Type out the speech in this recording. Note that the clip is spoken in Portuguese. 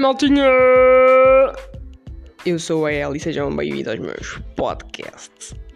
maltinha! Eu sou a Ellie e sejam bem-vindos aos meus podcasts.